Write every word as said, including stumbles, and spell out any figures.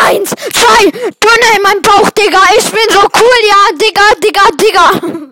Eins, zwei, Döner in meinem Bauch, Digga. Ich bin so cool, ja, Digga, Digga, Digga.